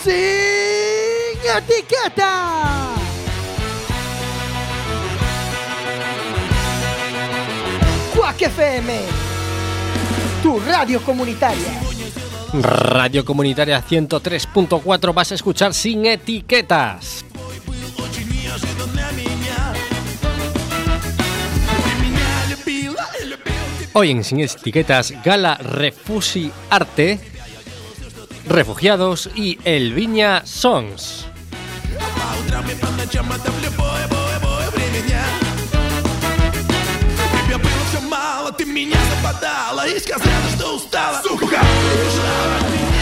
Sin etiqueta. Quack FM, tu radio comunitaria. Radio Comunitaria 103.4, vas a escuchar Sin Etiquetas. Hoy en Sin Etiquetas, Gala Refusi Arte, Refugiados y El Viña Songs. Ты меня западала и сказала, что устала. Сука, убежала от меня.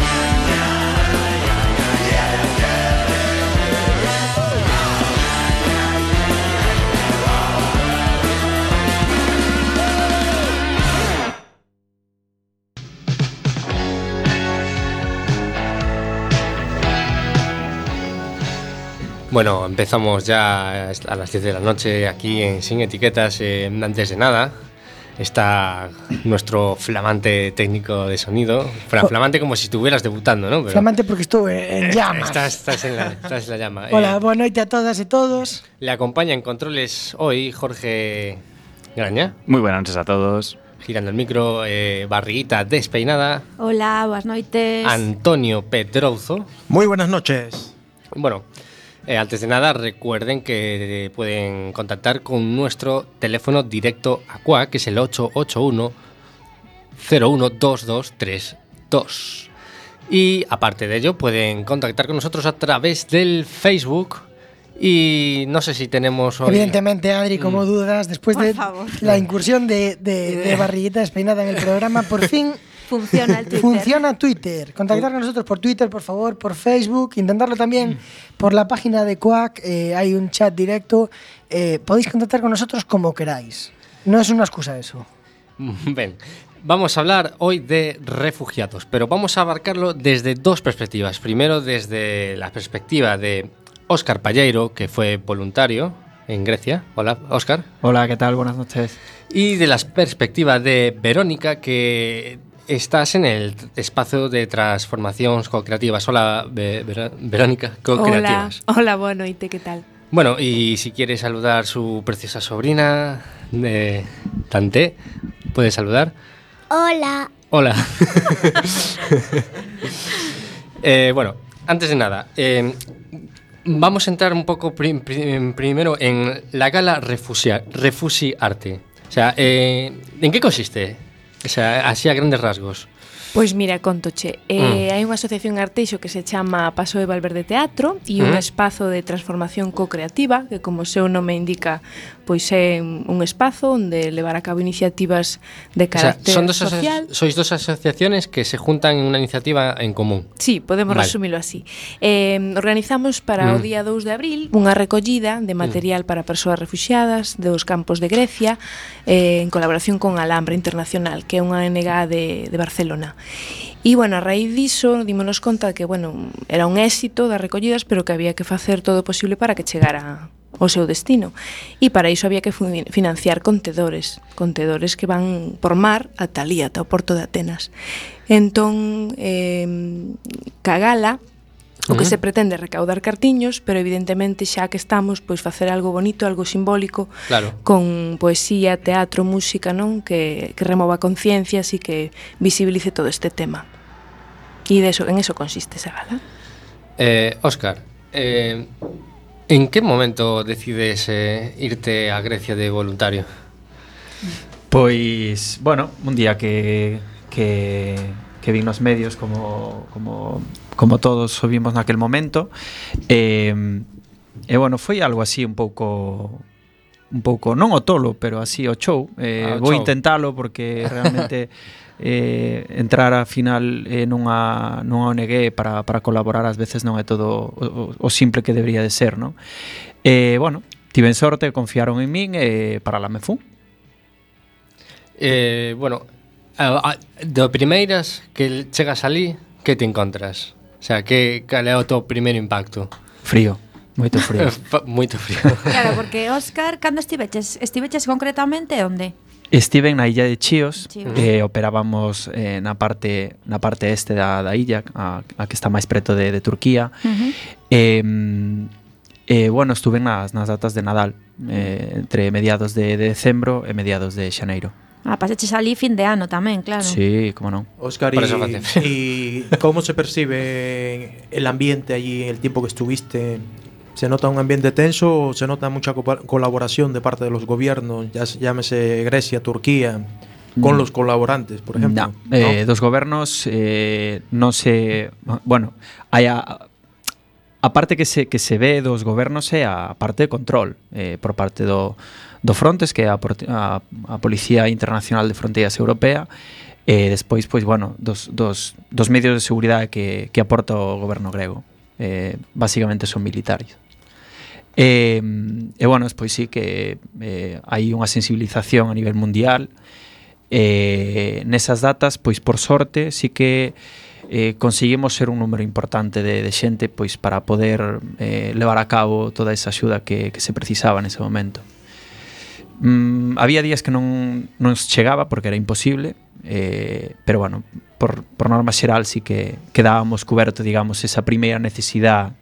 Bueno, empezamos ya a las 10 de la noche aquí en Sin Etiquetas. Antes de nada, está nuestro flamante técnico de sonido. Flamante como si estuvieras debutando, ¿no? Pero flamante porque estuve en llamas. Estás en la llama. Hola, boa noite a todas e todos. Le acompaña en controles hoy Jorge Graña. Muy buenas noches a todos. Girando el micro, Barriguita despeinada. Hola, boas noites. Antonio Pedrozo. Muy buenas noches. Bueno, antes de nada, recuerden que pueden contactar con nuestro teléfono directo a Quack, que es el 881-012232. Y aparte de ello, pueden contactar con nosotros a través del Facebook. Y no sé si tenemos hoy... Evidentemente, Adri, como dudas, después de la incursión de Barriguita despeinada en el programa, por fin... Funciona el Twitter. Funciona Twitter. Contactar con nosotros por Twitter, por favor, por Facebook. Intentarlo también por la página de Quack. Hay un chat directo. Podéis contactar con nosotros como queráis. No es una excusa eso. Ven, vamos a hablar hoy de refugiados, pero vamos a abarcarlo desde dos perspectivas. Primero, desde la perspectiva de Óscar Palleiro, que fue voluntario en Grecia. Hola, Óscar. Hola, ¿qué tal? Buenas noches. Y de la perspectiva de Verónica, que... estás en el espacio de transformacións co-creativas. Hola, Verónica, co-creativas. Hola, boa noite, ¿qué tal? Bueno, y si quiere saludar su preciosa sobrina, Tante, ¿puede saludar? Hola. Hola. Bueno, antes de nada, vamos a entrar un poco primero en la Gala Refusi Arte. O sea, ¿en qué consiste? O sea, así a grandes rasgos. Pois mira, contoche, hai unha asociación arteixo que se chama Paso de Valverde Teatro e un espazo de transformación co-creativa que, como o seu nome indica, pois é un espazo onde levar a cabo iniciativas de carácter social. Sois dos asociaciones que se juntan en unha iniciativa en común. Sí, podemos resumilo así. Organizamos para o día 2 de abril unha recollida de material para persoas refuxiadas dos campos de Grecia en colaboración con Alhambra Internacional, que é unha ONG de Barcelona. E, bueno, a raíz diso, dímonos conta que, bueno, era un éxito das recollidas, pero que había que facer todo o posible para que chegara ao seu destino. E para iso había que financiar contedores que van por mar ata ali, ata o porto de Atenas. Entón, ca gala, o que se pretende é recaudar cartiños, pero evidentemente xa que estamos, pois facer algo bonito, algo simbólico, claro, con poesía, teatro, música, non? Que remova conciencias e que visibilice todo este tema. E en eso consiste esa gala. Óscar, ¿en qué momento decides irte a Grecia de voluntario? Pois, bueno, un día que vin nos medios como todos o vimos naquel momento, e bueno, foi algo así un pouco non o tolo, pero así o show. Vou intentalo porque realmente entrar a final nunha ONG para colaborar ás veces non é todo o simple que debería de ser, non? Bueno, tiven sorte, confiaron en min e para lá me fun. Bueno, de primeiras que chegas ali, que te encontras? O sea, cal é o teu primeiro impacto? Frío, moito frío. Moito frío. Claro, porque, Óscar, cando estiveches concretamente onde? Estiven na illa de Chios, Chios. operábamos na parte este da illa, a que está máis preto de Turquía. Bueno, estuve nas datas de Nadal, entre mediados de decembro e mediados de xaneiro. Pasaches ali fin de ano tamén, claro. Sí, como non. Óscar, Por eso fácil. ¿y cómo se percibe el ambiente allí el tiempo que estuviste? ¿Se nota un ambiente tenso o se nota mucha colaboración de parte de los gobiernos, ya llámese Grecia, Turquía, con los colaborantes, por ejemplo? No, dos gobernos non se... Bueno, hai a parte que se ve dos gobernos é a parte de control por parte do Frontex, que é a Policía Internacional de Fronteiras Europea, e despois, pois, bueno, dos medios de seguridade que aporta o goberno grego. Básicamente son militares. E bueno, despois sí que hai unha sensibilización a nivel mundial. Nesas datas, pois por sorte, sí que conseguimos ser un número importante de xente pois para poder levar a cabo toda esa axuda que se precisaba nese momento. Había días que non chegaba porque era imposible, pero bueno, por norma xeral sí que quedábamos cuberto, digamos, esa primeira necesidade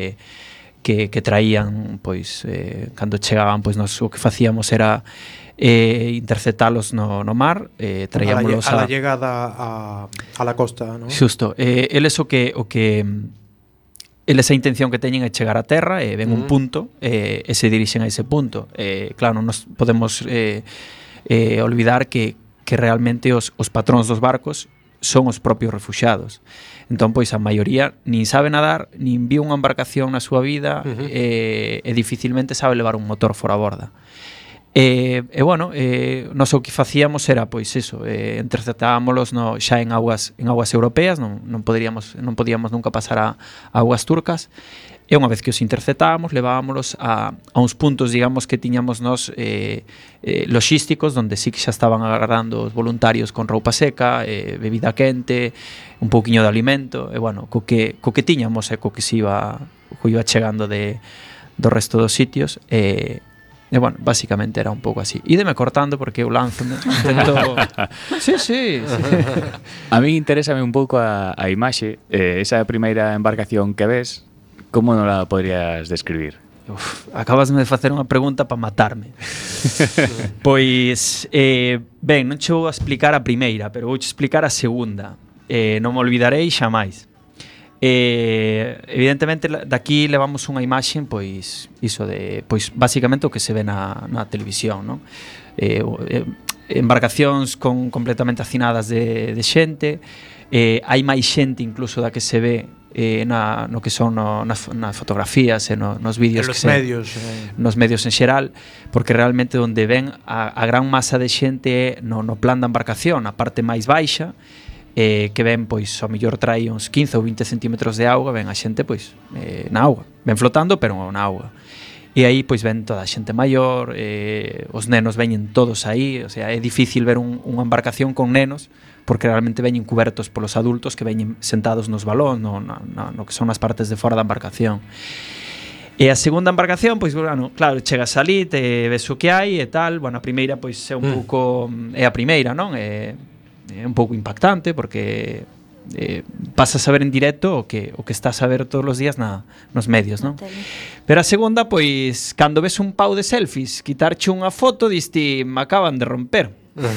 que traían, pois, cando chegaban, pois o que facíamos era interceptalos no mar, traíamolos a la llegada a la costa, ¿no? Xusto, eles o que eles a intención que teñen é chegar a terra e ven un punto e se dirixen a ese punto. Claro, non nos podemos olvidar que realmente os patróns dos barcos son os propios refuxiados. Entón, pois, a maioría nin sabe nadar, nin viu unha embarcación na súa vida e dificilmente sabe levar un motor fora a borda. Bueno, nós o que facíamos era, pois, eso, interceptábamos xa en aguas europeas, non podíamos nunca pasar a aguas turcas, e unha vez que os interceptábamos, levábamos a uns puntos, digamos, que tiñamos nós logísticos, donde sí que xa estaban agardando os voluntarios con roupa seca, bebida quente, un pouquiño de alimento, e bueno, co que tiñamos e co que iba chegando do resto dos sitios, e bueno, básicamente era un pouco así. Ídeme cortando porque eu lánzome, intento... Sí. A mí interésame un pouco a imaxe, esa primeira embarcación que ves, como non la podrías describir? Acabasme de facer unha pregunta para matarme. Pois, ben, non che vou a explicar a primeira, pero vou che explicar a segunda. Non me olvidarei xamais. Evidentemente daqui levamos unha imaxe, pois iso de, pois basicamente o que se ve na televisión, non? Embarcacións completamente hacinadas de xente, hai máis xente incluso da que se ve no que son nas fotografías e nos vídeos, nos medios en xeral, porque realmente onde ven a gran masa de xente é no plan da embarcación, a parte máis baixa, que ven, pois, ao mellor trai uns 15 ou 20 centímetros de auga, ven a xente, pois, na auga, ven flotando, pero na auga. E aí, pois, ven toda a xente maior, os nenos veñen todos aí, o sea, é difícil ver unha embarcación con nenos, porque realmente veñen cubertos polos adultos que veñen sentados nos balóns, no que son as partes de fora da embarcación. E a segunda embarcación, pois, bueno, claro, chegas ali, te ves o que hai e tal, bueno, a primeira, pois, é un pouco, é a primeira, non? É un pouco impactante porque pasas a ver en directo o que estás a ver todos os días nos medios, non? Pero a segunda, pois, cando ves un pau de selfies quitarche unha foto, diste, me acaban de romper.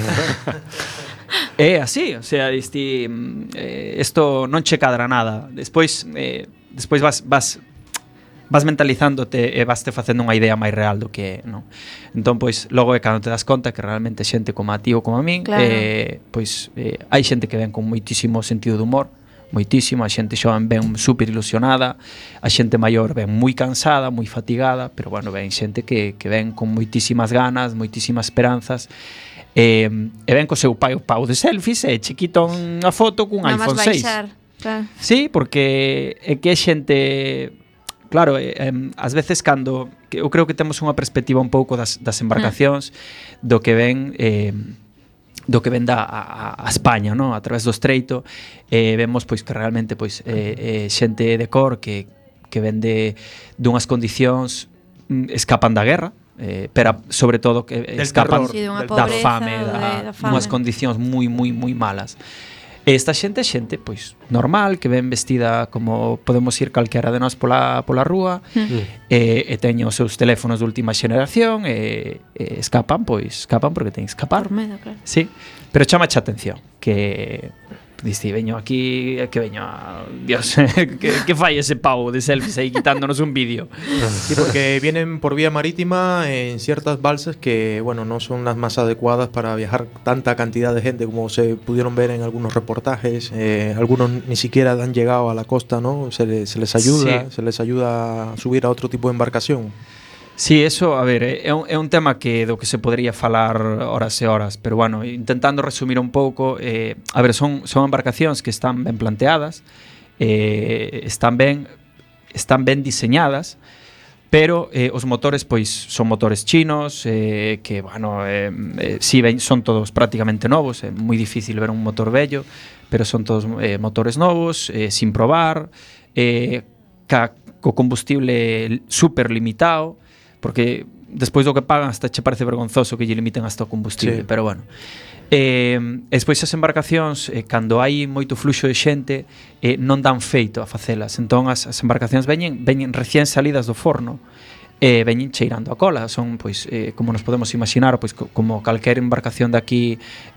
É así, o sea, diste, isto non che cadra nada. Despois vas mentalizándote e vaste facendo unha idea máis real do que é, non? Entón, pois, logo é cando te das conta que realmente xente como a ti ou como a min, claro. Pois, hai xente que ven con moitísimo sentido de humor, moitísimo, a xente xoven ben super ilusionada, a xente maior ven moi cansada, moi fatigada, pero bueno, ven xente que ven con moitísimas ganas, moitísimas esperanzas, e ven co seu pau de selfies e chiquito unha foto cun iPhone 6. Claro. Sí, porque é que é xente... Claro, ás veces cando eu creo que temos unha perspectiva un pouco das embarcacións do que ven a España, no? A través do estreito, vemos pois que realmente pois xente de cor que ven dunhas condicións, escapan da guerra, pero sobre todo que escapan terror, Sí, dunha del da pobreza, fame, da fame. unhas condicións moi malas. Esta xente é xente pois normal, que ven vestida como podemos ir calquera de nós pola rúa, e teñen os seus teléfonos de última xeración e escapan porque teñen que escapar. Por medo, claro. Sí, pero chamache a atención que diste, veño aquí, que veño a... Dios, que fai ese pavo de selfies aí quitándonos un vídeo. Sí, porque vienen por vía marítima en ciertas balsas que, bueno, no son las más adecuadas para viajar tanta cantidad de gente como se pudieron ver en algunos reportajes. Algunos ni siquiera han llegado a la costa, ¿no? Se les ayuda, Sí. se les ayuda a subir a otro tipo de embarcación. Sí, eso, a ver, é un tema do que se podría falar horas e horas, pero bueno, intentando resumir un pouco, a ver, son embarcacións que están ben planteadas, están ben diseñadas, pero os motores pois son motores chinos, que, bueno, si son todos prácticamente novos, é moi difícil ver un motor vello, pero son todos motores novos, sin probar, co combustible super limitado, porque despois do que pagan hasta che parece vergonzoso que lle limiten hasta o combustible, Sí. pero bueno. Despois as embarcacións, cando hai moito fluxo de xente, non dan feito a facelas. Entón as embarcacións veñen recién salidas do forno, veñen cheirando a cola. Son, pois, como nos podemos imaginar, pois, como calquer embarcación de aquí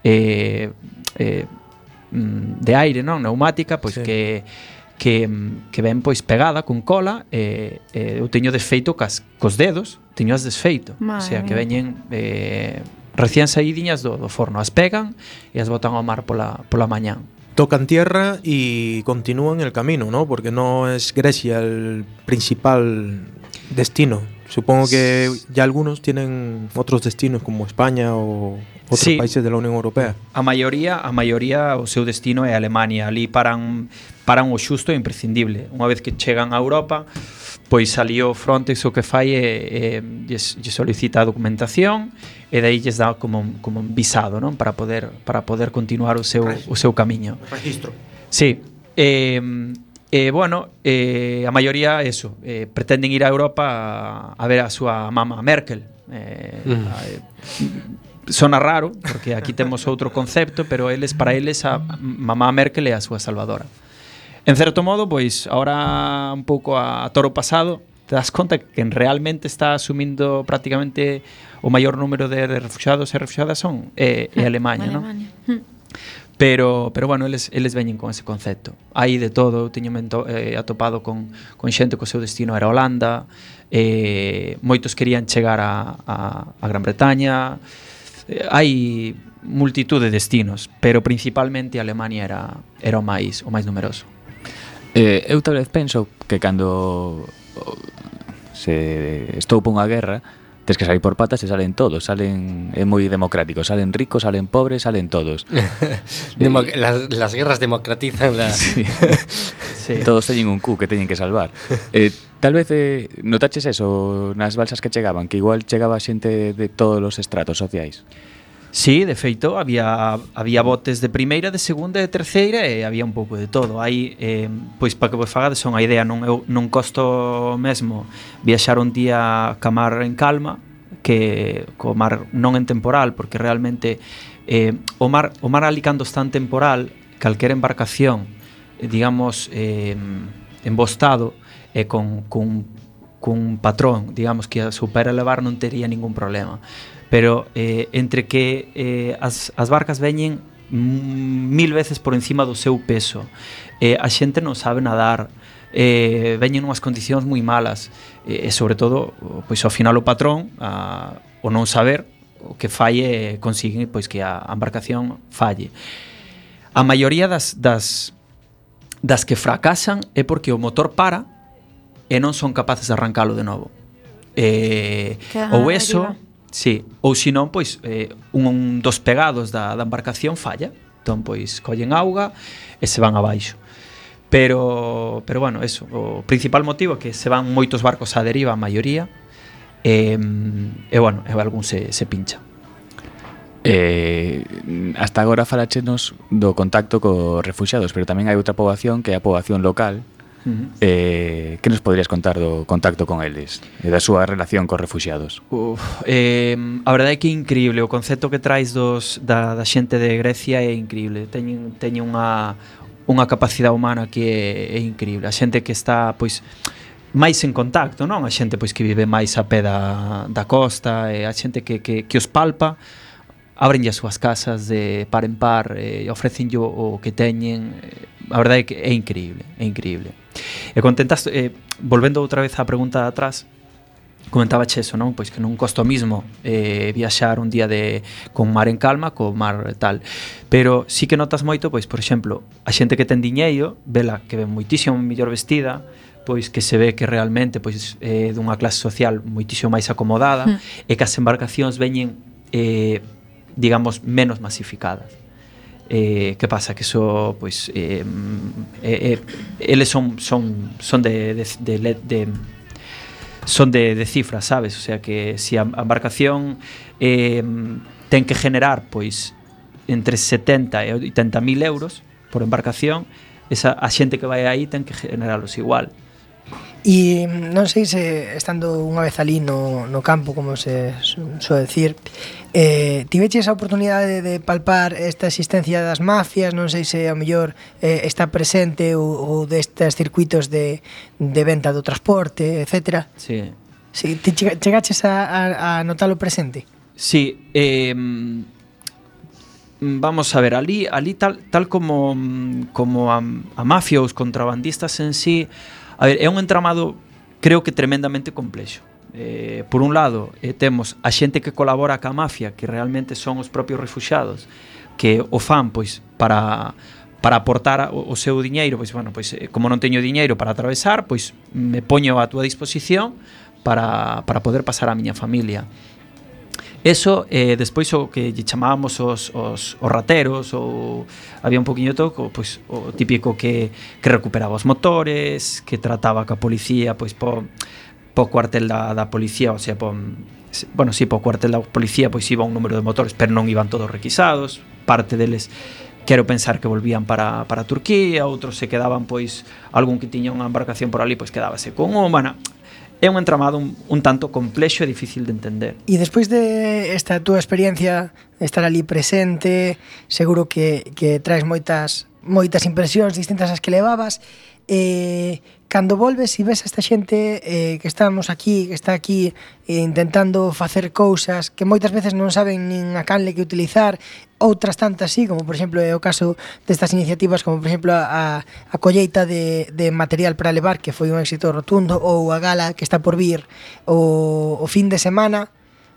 de aire, non? Neumática, pois Sí. que ven pois pegada con cola, eu teño desfeito cos dedos, teño as desfeito, o sea, que veñen recién saídiñas do forno, as pegan e as botan ao mar pola mañán. Tocan tierra y continúan el camino, ¿no? Porque no es Grecia el principal destino. Supongo que ya algunos tienen otros destinos como España o otros Sí. países de la Unión Europea. A maioría o seu destino é Alemania. Ali paran o xusto e imprescindible. Unha vez que chegan a Europa, pois ali o Frontex o que fai é lles solicita a documentación e dai lles dá como un visado, non? Para poder continuar o seu camiño. Registro. Sí. Bueno, a maioría eso, pretenden ir a Europa a ver a súa mama Merkel. Sona raro, porque aquí temos outro concepto, pero para eles a mamá Merkel é a súa salvadora. En certo modo, pois, ahora un pouco a toro pasado, te das conta que quen realmente está asumindo prácticamente o maior número de refugiados e refugiadas son Alemania, non? Pero bueno, eles veñen con ese concepto. Hai de todo, eu teño atopado con xente que o seu destino era Holanda, moitos querían chegar a Gran Bretaña, hai multitud de destinos, pero principalmente Alemania era o máis numeroso. Eu tal vez penso que cando se estoupa unha guerra tes que salir por patas e salen todos, é moi democrático, salen ricos, salen pobres, salen todos. Las guerras democratizan la... Sí. Sí. Todos teñen un cu que teñen que salvar. Tal vez notaches eso nas balsas que chegaban, que igual chegaba xente de todos os estratos sociais. Sí, de feito, había botes de primeira, de segunda e de terceira e había un pouco de todo. Hai, pois, para que vos fagades unha idea, non costo mesmo viaxar un día ca mar en calma que co mar non en temporal, porque realmente o mar ali cando está en temporal, calquera embarcación, digamos, en bo estado e con un patrón, digamos, que a supera elevar non tería ningún problema. Pero entre que as barcas veñen 1000 veces por encima do seu peso, a xente non sabe nadar, veñen unhas condicións moi malas, e sobre todo, pois ao final o patrón, o non saber, o que falle consigue pois que a embarcación falle. A maioría das que fracasan é porque o motor para e non son capaces de arrancalo de novo. Ou eso, sí, ou senón, pois, un dos pegados da embarcación falla, entón, pois, collen auga e se van abaixo. Pero bueno, eso, o principal motivo é que se van moitos barcos á deriva, a maioría, e bueno, algún se pincha. Hasta agora falachenos do contacto cos refuxiados, pero tamén hai outra poboación que é a poboación local, Que nos poderías contar do contacto con eles e da súa relación cos refuxiados? A verdade é que é increíble o concepto que traes da xente de Grecia é increíble. Teñen unha capacidade humana que é increíble. A xente que está pois máis en contacto, non? A xente pois que vive máis a pé da costa, e a xente que os palpa, abrenlle as súas casas de par en par, ofrecenlle o que teñen. A verdade é que é increíble, é increíble. E contentas, volvendo outra vez á pregunta de atrás, comentaba eso, non? Pois que non costa o mismo viaxar un día con mar en calma, co mar tal. Pero sí que notas moito, pois, por exemplo, a xente que ten diñeiro, vela que ven moitísimo mellor vestida, pois que se ve que realmente pois dunha clase social moitísimo máis acomodada, e que as embarcacións veñen digamos menos masificadas. Que pasa? Que eso pois eles son de cifras, sabes? O sea que se a embarcación ten que generar pois entre 70 e 80 mil euros por embarcación, a xente que vai aí ten que generalos igual. E non sei se estando unha vez ali no campo, como se suele decir, tiveche esa oportunidade de palpar esta existencia das mafias, non sei se ao mellor está presente ou destes circuitos de venta do transporte, etc. Sí. Si, ti chegaches a notalo presente? Sí, vamos a ver, ali tal como a mafia ou os contrabandistas en sí. A ver, é un entramado, creo que tremendamente complexo. Por un lado, temos a xente que colabora ca mafia, que realmente son os propios refuxiados, que o fan pois para aportar o seu diñeiro, pois bueno, pois como non teño diñeiro para atravesar, pois me poño a túa disposición para poder pasar a miña familia. Eso, despois o que lle chamábamos os rateros, ou había un poquinho todo, pois, o típico que recuperaba os motores, que trataba ca policía, pois po cuartel da policía, o sea, po cuartel da policía pois iba un número de motores, pero non iban todos requisados, parte deles quero pensar que volvían para Turquía, outros se quedaban, pois, algún que tiña unha embarcación por ali, pois quedábase con humana. É un entramado un tanto complexo e difícil de entender. E despois de esta túa experiencia, estar ali presente, seguro que traes moitas impresións distintas ás que levabas. Cando volves e ves a esta xente que estamos aquí, que está aquí intentando facer cousas que moitas veces non saben nin a canle que utilizar, outras tantas sí, como por exemplo é o caso destas iniciativas, como por exemplo a colleita de material para levar, que foi un éxito rotundo, ou a gala que está por vir o fin de semana.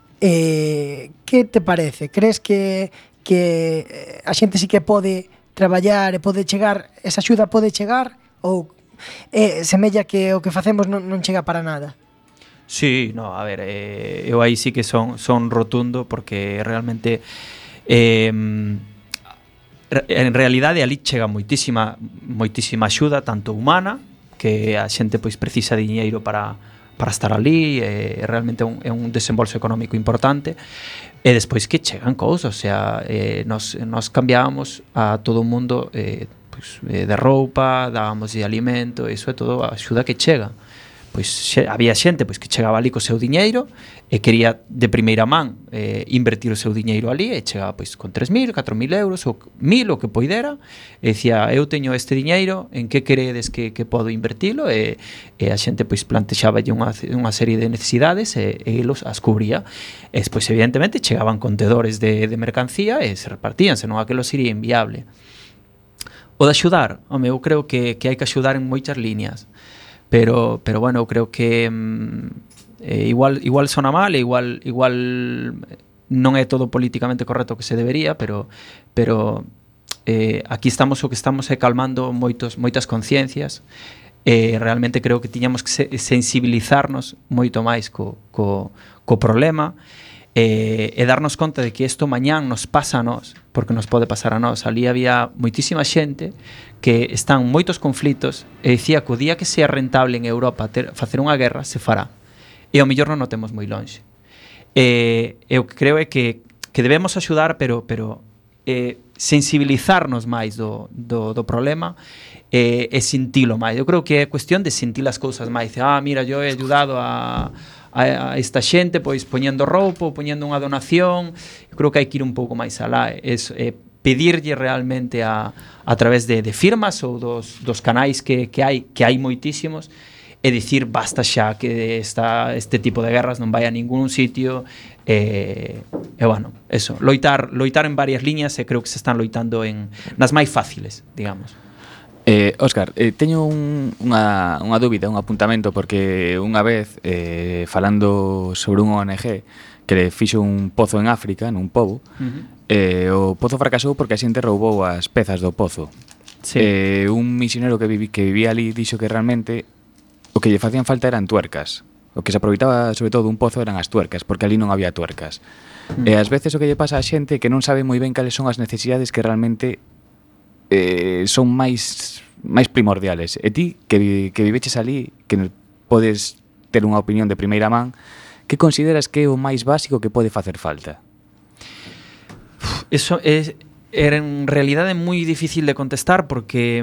Que te parece? Crees que a xente sí que pode traballar e pode chegar, esa axuda pode chegar, ou semella que o que facemos non chega para nada? Sí, no, a ver, eu aí sí que son rotundo, porque realmente en realidade ali chega moitísima axuda, tanto humana, que a xente pois precisa diñeiro para estar ali, realmente é un desembolso económico importante, e despois que chegan cousas, o sea, nos cambiábamos a todo o mundo de roupa, dábamos de alimento, iso é todo a axuda que chega. Pois había xente pois que chegaba ali co seu diñeiro e quería de primeira man invertir o seu diñeiro ali, e chegaba pois con 3.000, 4.000 euros ou 1.000, o que poidera, e dicía, eu teño este diñeiro, en que queredes que podo invertilo? E a xente pois plantexaballe unha serie de necesidades e elos as cubría. E despois evidentemente chegaban contedores de mercancía e se repartían, senón aquilo sería inviable. O de axudar, home, eu creo que hai que axudar en moitas líneas, pero bueno, eu creo que igual sona mal, e igual non é todo políticamente correcto que se debería, pero aquí estamos o que estamos é calmando moitas conciencias, e realmente creo que tiñamos que sensibilizarnos moito máis co problema, e darnos conta de que isto mañán nos pasa a nós, porque nos pode pasar a nós. Ali había moitísima xente que están moitos conflitos, e dicía que o día que sea rentable en Europa facer unha guerra, se fará, e ao mellor non o temos moi lonxe. E o que creo é que debemos axudar, pero sensibilizarnos máis do problema e sentilo máis. Eu creo que é cuestión de sentir as cousas máis. Mira, eu he ayudado a esta xente pois poñendo roupa, poñendo unha donación. Eu creo que hai que ir un pouco máis alá. Pedirlle realmente a través de firmas ou dos canais que hai moitísimos, e dicir basta xa, que este tipo de guerras non vai a ningún sitio. Bueno, eso, loitar en varias liñas, e creo que se están loitando nas máis fáciles, digamos. Óscar, teño unha dúbida, un apuntamento, porque unha vez falando sobre un ONG que le fixo un pozo en África, nun pobo, o pozo fracasou porque a xente roubou as pezas do pozo. Sí. Un misionero que vivía ali dixo que realmente o que lle facían falta eran tuercas. O que se aproveitaba sobre todo un pozo eran as tuercas, porque ali non había tuercas. E ás veces o que lle pasa a xente é que non sabe moi ben cales son as necesidades que realmente son máis primordiales. E ti, que viveches ali, que podes ter unha opinión de primeira man, que consideras que é o máis básico que pode facer falta? Eso era en realidade moi difícil de contestar, porque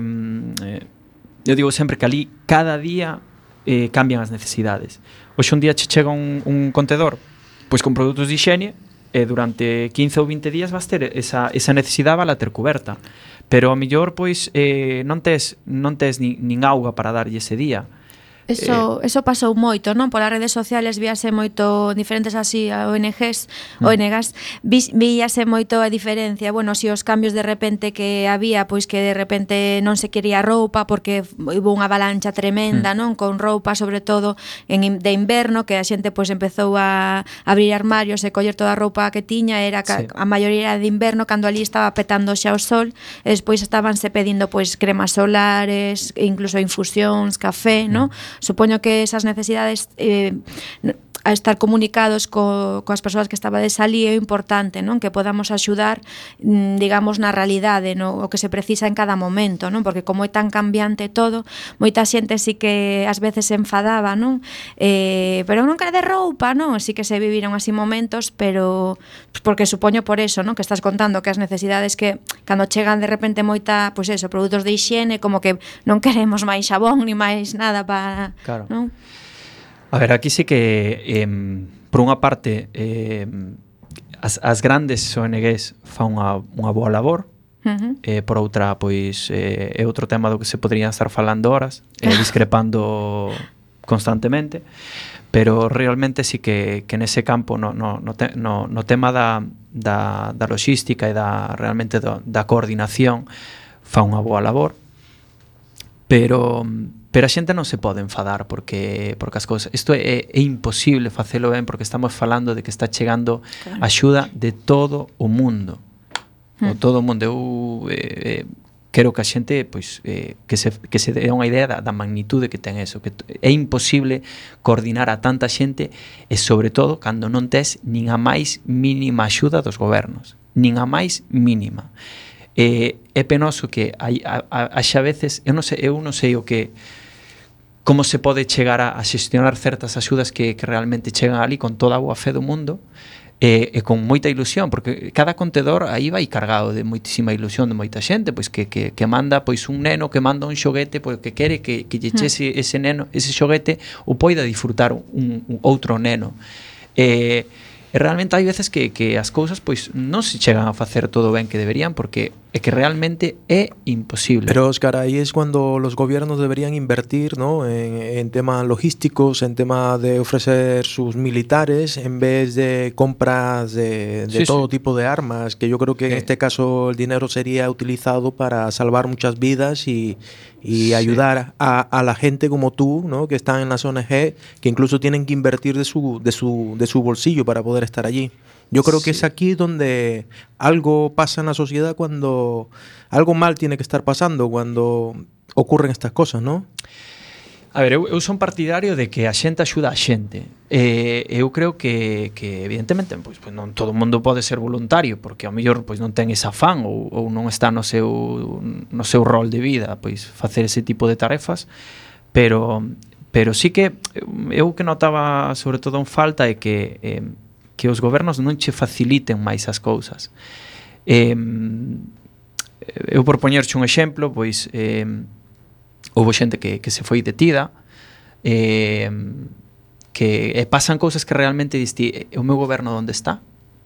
eu digo sempre que ali cada día cambian as necesidades. Hoxe un día che chega un contedor pois con produtos de higiene, e durante 15 ou 20 días vas ter esa necesidade, vai ter coberta, pero ao mellor pois non tes nin auga para darlle ese día. Eso pasou moito, non? Polas redes sociales víase moito diferentes así ONGs, víase moito a diferencia, bueno, si os cambios de repente que había, pois que de repente non se quería roupa porque hubo unha avalancha tremenda, non? Con roupa, sobre todo de inverno, que a xente pois empezou a abrir armarios e coller toda a roupa que tiña, era a maioría de inverno, cando ali estaba petando xa o sol, e despois estabanse pedindo pois cremas solares, incluso infusións, café, non? Supoño que esas necesidades a estar comunicados coas persoas que estabades ali é importante, non? Que podamos axudar, digamos, na realidade, no? O que se precisa en cada momento, non? Porque como é tan cambiante todo, moita xente sí que ás veces se enfadaba, non? Pero non quere de roupa, non? Sí que se viviron así momentos, pero porque supoño por eso, non? Que estás contando que as necesidades que cando chegan de repente moita, pois eso, produtos de higiene, como que non queremos máis xabón ni máis nada para, claro. Non? A ver, aquí sí que por unha parte as grandes ONGs fan unha boa labor, por outra pois é outro tema do que se poderían estar falando horas, discrepando constantemente, pero realmente sí que nese campo no tema da logística e realmente da coordinación fan unha boa labor, pero a xente non se pode enfadar porque as cousas, isto é imposible facelo ben, porque estamos falando de que está chegando axuda de todo o mundo. O todo o mundo. Eu quero que a xente pois que se dé unha idea da magnitude que ten eso, que é imposible coordinar a tanta xente, e sobre todo cando non tes nin a máis mínima axuda dos gobernos, nin a máis mínima. É penoso que haxa veces, eu non sei o que, como se pode chegar a xestionar certas axudas que realmente chegan ali con toda a boa fe do mundo, e con moita ilusión, porque cada contedor aí vai cargado de moitísima ilusión de moita xente, pois que manda pois un neno que manda un xoguete, pois que quere que lle chese ese neno, ese xoguete, o poida disfrutar un outro neno. E realmente hai veces que as cousas pois non se chegan a facer todo ben que deberían, porque é que realmente é imposible. Pero Óscar, ahí es cuando los gobiernos deberían invertir, ¿no? en temas logísticos, en tema de ofrecer sus militares, en vez de compras de todo tipo de armas, que yo creo que en este caso el dinero sería utilizado para salvar muchas vidas y ayudar a la gente como tú, ¿no? Que están en las ONG, que incluso tienen que invertir de su bolsillo para poder estar allí. Yo creo que es aquí donde algo pasa en la sociedad, cuando algo mal tiene que estar pasando cuando ocurren estas cosas, ¿no? A ver, eu son partidario de que a xente axuda a xente. Eu creo que evidentemente pois non todo o mundo pode ser voluntario, porque ao mellor pois non ten ese afán ou non está no seu rol de vida pois facer ese tipo de tarefas, pero sí que eu que notaba sobre todo en falta é que os gobernos non che faciliten máis as cousas. eu por poñerche un exemplo, pois houve xente que se foi detida, que pasan cousas que realmente diste, o meu goberno onde está?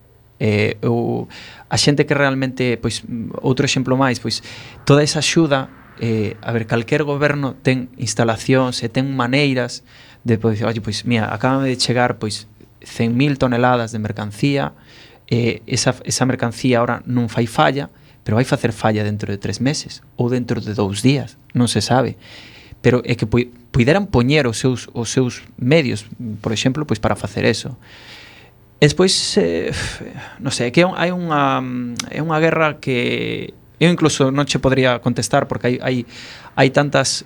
A xente que realmente, pois, outro exemplo máis, pois, toda esa axuda, a ver, calquer goberno ten instalacións e ten maneiras de, pois, oye, pois, mira, acabame de chegar, pois, 100.000 toneladas de mercancía, esa mercancía ahora non fai falla, pero vai facer falla dentro de 3 meses ou dentro de 2 días, non se sabe. Pero é que puideran poñer os seus medios, por exemplo, pois para facer eso. Despois, non sei, que é unha guerra que eu incluso non che podría contestar porque hai tantas,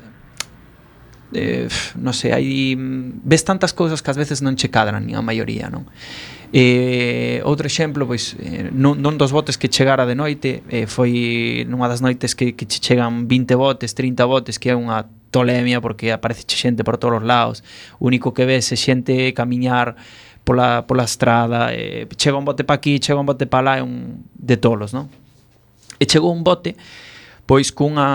non sei, ves tantas cousas que ás veces non che cadran, nin a maioría, non? Outro exemplo, pois, nun dos botes que chegara de noite, foi nunha das noites que che chegan 20 botes, 30 botes, que é unha tolemia porque aparece xente por todos os lados. O único que ves é xente camiñar pola estrada, chega un bote pa aquí, chega un bote pa lá, é un de tolos, non? E chegou un bote, pois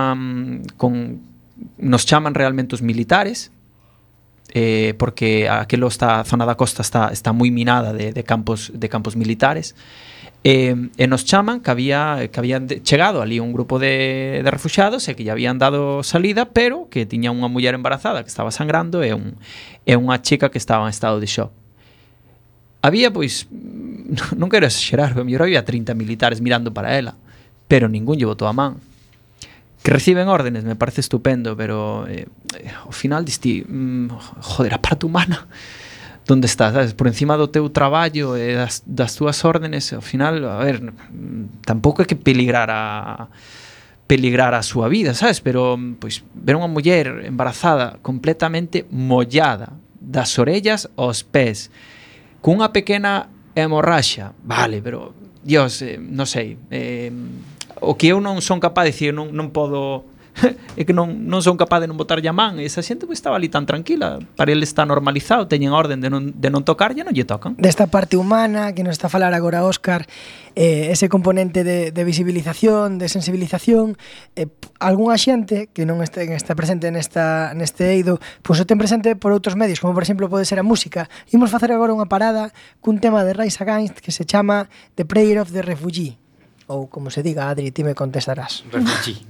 nos chaman realmente os militares, porque a zona da costa está moi minada de campos militares, e nos chaman que habían chegado ali un grupo de refuxiados e que lle habían dado salida, pero que tiña unha muller embarazada que estaba sangrando e unha chica que estaba en estado de shock. Había, pois, non quero exagerar, pero mellor había 30 militares mirando para ela, pero ningún lle botou a man. Que reciben órdenes, me parece estupendo, pero ao final diste, joder, a parte humana, onde está, sabes? Por encima do teu traballo e das túas órdenes, ao final, a ver, tampouco é que peligrar a súa vida, sabes? Pero, pois, ver unha muller embarazada completamente mollada das orellas aos pés, cunha pequena hemorraxa, vale, pero, Dios, non sei, o que eu non son capaz de dicir, non podo, é que non son capaz de non botar a man, esa xente estaba ali tan tranquila, para ele está normalizado, teñen orden de non tocar, e non lle tocan. Desta parte humana que nos está a falar agora Óscar, ese componente de visibilización, de sensibilización, algunha xente que non está presente neste eido, pois o ten presente por outros medios, como por exemplo pode ser a música. Imos facer agora unha parada cun tema de Rise Against que se chama The Prayer of the Refugee, ou como se diga, Adri, ti me contestarás. Refugee.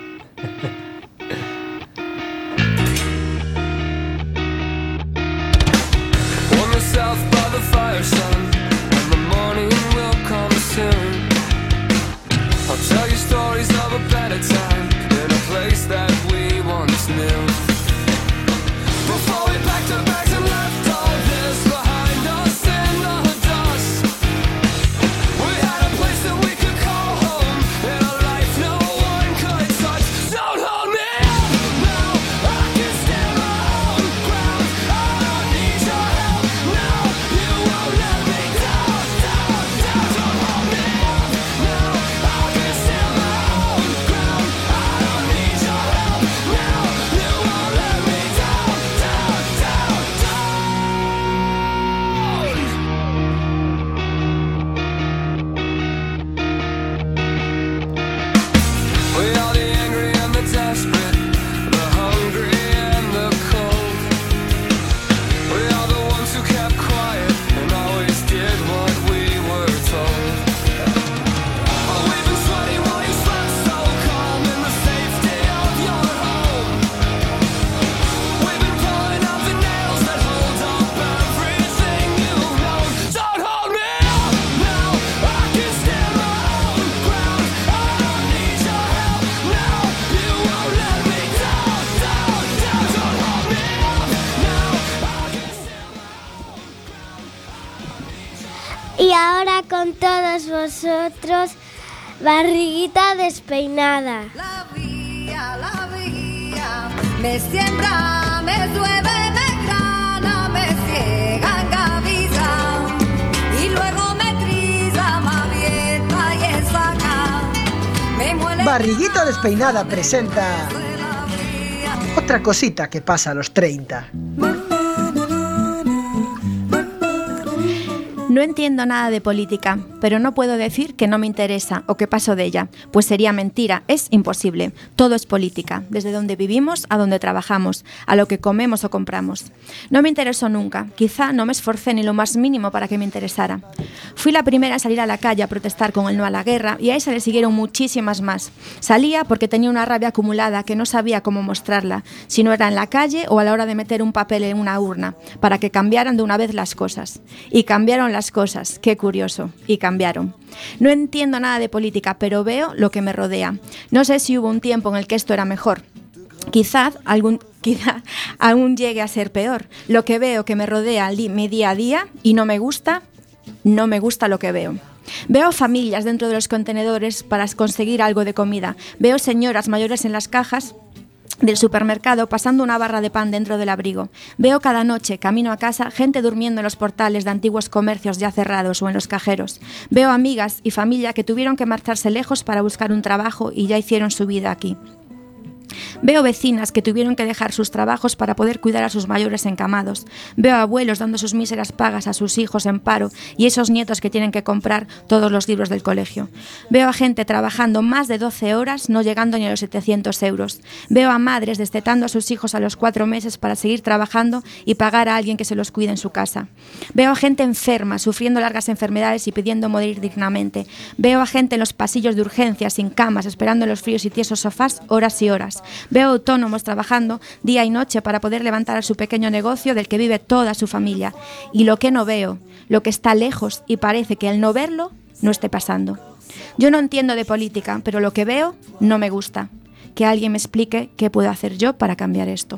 On the south by the fire sun, and the morning will come soon. I'll tell you stories of a better time in a place that we once knew. Before we packed our bags and left all this behind us in the dust, we had a place that we could call home in a life no one could touch. Don't hold me up now, I can stand my own ground. I don't need your help now, you won't let me down, down, down. Don't hold me up now, I can stand my own ground. I don't need your help now, you won't let me down, down, down, down. We are the angry and the desperate, the hungry and the cold. We are the ones who kept quiet and always did what we were told. Oh, we've been sweating while you slept so calm in the safety of your home. We've been pulling out the nails that hold up everything you've known. Don't hold me up now, I can stand my own ground. I don't need your help now, you won't let me down, down, down. Don't hold me up now, I can stand my Y ahora con todos vosotros, Barriguita Despeinada. La vía, me siembra, me llueve, me grana, me ciega, engaviza, y luego me trilla, me avienta y saca, me muele. Barriguita Despeinada presenta otra cosita que pasa a los 30. No entiendo nada de política, pero no puedo decir que no me interesa o que paso de ella, pues sería mentira, es imposible. Todo es política, desde donde vivimos a donde trabajamos, a lo que comemos o compramos. No me interesó nunca, quizá no me esforcé ni lo más mínimo para que me interesara. Fui la primera a salir a la calle a protestar con el no a la guerra y a esa le siguieron muchísimas más. Salía porque tenía una rabia acumulada que no sabía cómo mostrarla, si no era en la calle o a la hora de meter un papel en una urna, para que cambiaran de una vez las cosas. Y cambiaron las cosas, qué curioso, y cambiaron. No entiendo nada de política, pero veo lo que me rodea. No sé si hubo un tiempo en el que esto era mejor. Quizá aún llegue a ser peor. Lo que veo que me rodea mi día a día y no me gusta lo que veo. Veo familias dentro de los contenedores para conseguir algo de comida. Veo señoras mayores en las cajas del supermercado pasando una barra de pan dentro del abrigo. Veo cada noche, camino a casa, gente durmiendo en los portales de antiguos comercios ya cerrados o en los cajeros. Veo amigas y familia que tuvieron que marcharse lejos para buscar un trabajo y ya hicieron su vida aquí. Veo vecinas que tuvieron que dejar sus trabajos para poder cuidar a sus mayores encamados. Veo abuelos dando sus míseras pagas a sus hijos en paro y esos nietos que tienen que comprar todos los libros del colegio. Veo a gente trabajando más de 12 horas, no llegando ni a los 700 euros. Veo a madres destetando a sus hijos a los 4 meses para seguir trabajando y pagar a alguien que se los cuide en su casa. Veo a gente enferma, sufriendo largas enfermedades y pidiendo morir dignamente. Veo a gente en los pasillos de urgencias, sin camas, esperando en los fríos y tiesos sofás horas y horas. Veo autónomos trabajando día y noche para poder levantar a su pequeño negocio del que vive toda su familia. Y lo que no veo, lo que está lejos y parece que al no verlo, no esté pasando. Yo no entiendo de política, pero lo que veo no me gusta. Que alguien me explique qué puedo hacer yo para cambiar esto.